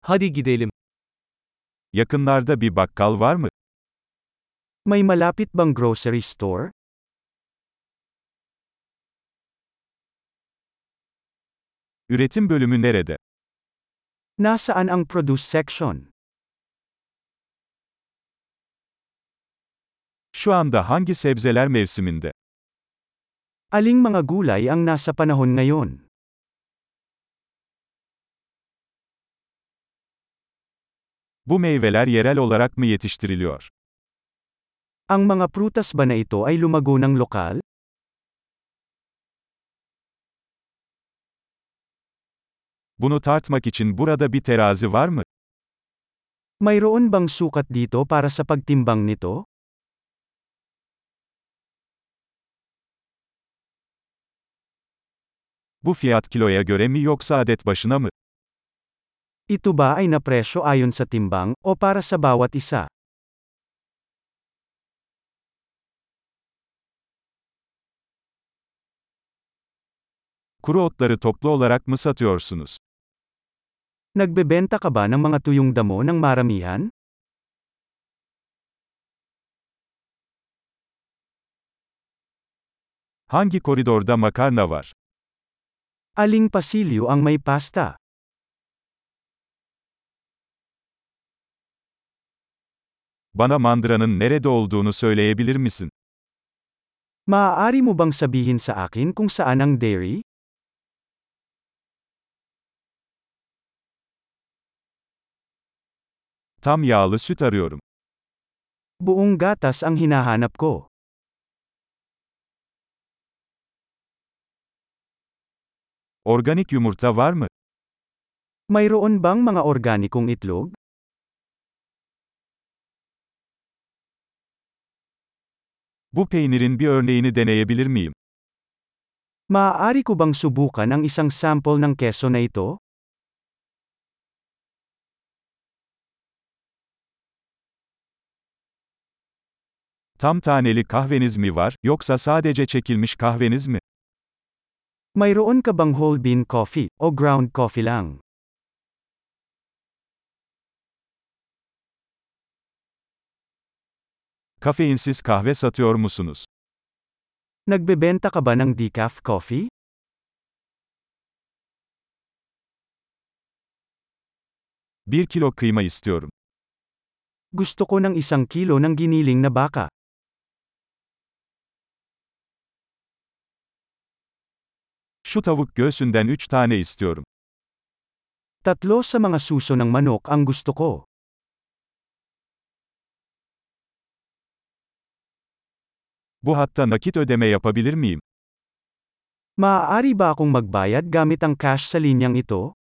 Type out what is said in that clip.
Hadi gidelim. Yakınlarda bir bakkal var mı? May malapit bang grocery store? Üretim bölümü nerede? Nasaan ang produce section? Şu anda hangi sebzeler mevsiminde? Aling mga gulay ang nasa panahon ngayon? Bu meyveler yerel olarak mı yetiştiriliyor? Ang mga prutas ba na ito ay lumago ng lokal? Bunu tartmak için burada bir terazi var mı? Mayroon bang sukat dito para sa pagtimbang nito? Bu fiyat kiloya göre mi yoksa adet başına mı? Ito ba ay napresyo ayon sa timbang, o para sa bawat isa? Kuru otları toplu olarak mı satıyorsunuz? Nagbebenta ka ba ng mga tuyong damo ng maramihan? Hangi koridorda makarna var? Aling pasilyo ang may pasta? Bana mandıranın nerede olduğunu söyleyebilir misin? Maaari mo bang sabihin sa akin kung saan ang dairy? Tam yağlı süt arıyorum. Buong gatas ang hinahanap ko. Organik yumurta var mı? Mayroon bang mga organikong itlog? Bu peynirin bir örneğini deneyebilir miyim? Maaari ko bang subukan ang isang sample ng keso na ito? Tam taneli kahveniz mi var, yoksa sadece çekilmiş kahveniz mi? Mayroon ka bang whole bean coffee, o ground coffee lang? Kafeinsiz kahve satıyor musunuz? Nagbebenta ka ba ng decaf coffee? 1 kilo kıyma istiyorum. Gusto ko ng 1 kilo ng giniling na baka. Şu tavuk göğsünden 3 tane istiyorum. 3 sa mga suso ng manok ang gusto ko. Bu hatta nakit ödeme yapabilir miyim? Maaari ba akong magbayad gamit ang cash sa linyang ito?